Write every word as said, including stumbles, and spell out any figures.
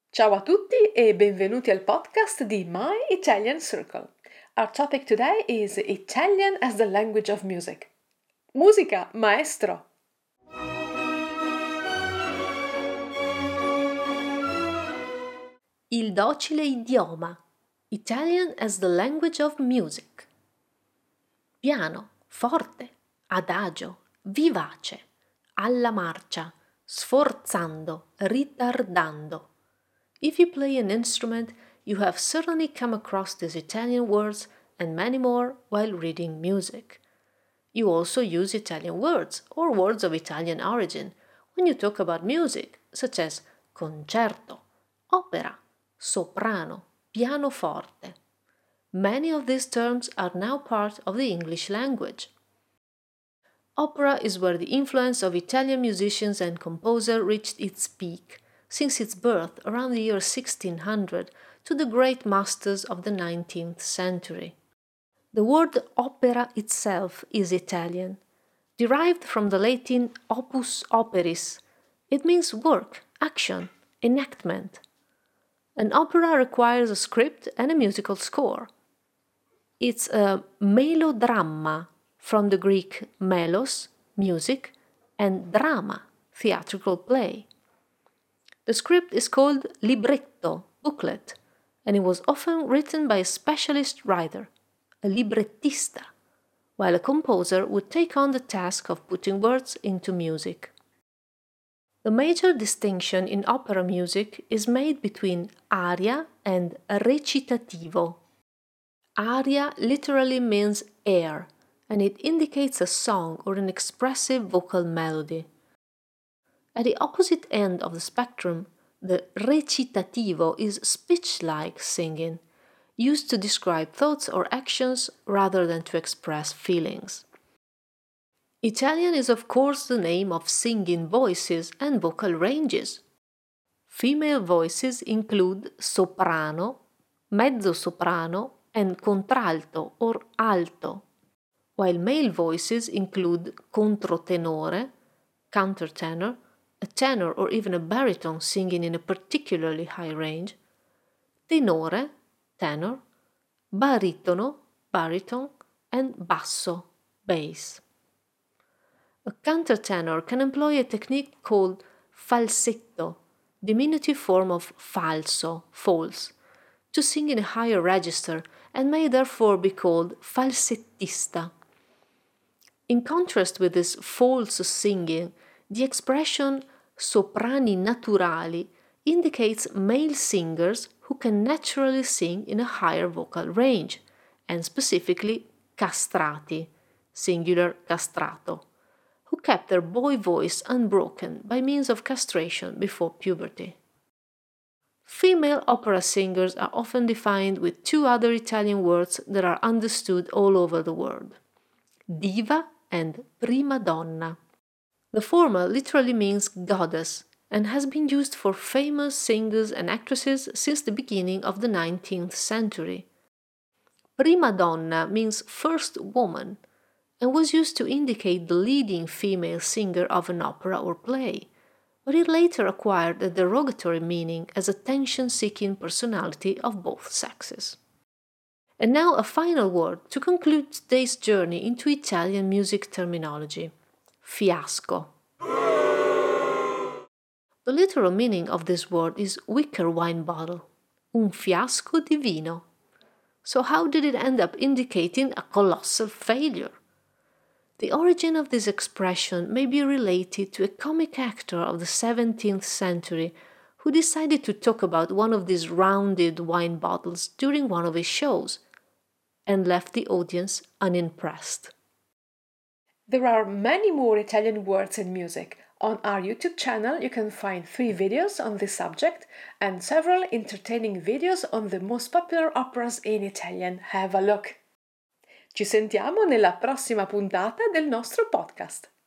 Ciao a tutti e benvenuti al podcast di My Italian Circle. Our topic today is Italian as the language of music. Musica, maestro! Il docile idioma. Italian as the language of music. Piano, forte, adagio, vivace, alla marcia, sforzando, ritardando. If you play an instrument, you have certainly come across these Italian words and many more while reading music. You also use Italian words or words of Italian origin when you talk about music, such as concerto, opera, soprano, pianoforte. Many of these terms are now part of the English language. Opera is where the influence of Italian musicians and composers reached its peak, since its birth around the year sixteen hundred to the great masters of the nineteenth century. The word opera itself is Italian, derived from the Latin opus operis. It means work, action, enactment. An opera requires a script and a musical score. It's a melodramma, from the Greek melos, music, and drama, theatrical play. The script is called libretto, booklet, and it was often written by a specialist writer, a librettista, while a composer would take on the task of putting words into music. The major distinction in opera music is made between aria and recitativo. Aria literally means air, and it indicates a song or an expressive vocal melody. At the opposite end of the spectrum, the recitativo is speech-like singing, used to describe thoughts or actions rather than to express feelings. Italian is of course the name of singing voices and vocal ranges. Female voices include soprano, mezzo-soprano, and contralto or alto, while male voices include controtenore, countertenor, a tenor or even a baritone singing in a particularly high range, tenore, tenor, baritono, baritone, and basso, bass. A countertenor can employ a technique called falsetto, diminutive form of falso, false, to sing in a higher register and may therefore be called falsettista. In contrast with this false singing, the expression soprani naturali indicates male singers who can naturally sing in a higher vocal range, and specifically castrati, singular castrato, who kept their boy voice unbroken by means of castration before puberty. Female opera singers are often defined with two other Italian words that are understood all over the world: diva and prima donna. The former literally means goddess and has been used for famous singers and actresses since the beginning of the nineteenth century. Prima donna means first woman and was used to indicate the leading female singer of an opera or play, but it later acquired a derogatory meaning as attention-seeking personality of both sexes. And now a final word to conclude today's journey into Italian music terminology: fiasco. The literal meaning of this word is wicker wine bottle, un fiasco di vino. So how did it end up indicating a colossal failure? The origin of this expression may be related to a comic actor of the seventeenth century who decided to talk about one of these rounded wine bottles during one of his shows and left the audience unimpressed. There are many more Italian words in music. On our YouTube channel you can find three videos on this subject and several entertaining videos on the most popular operas in Italian. Have a look! Ci sentiamo nella prossima puntata del nostro podcast.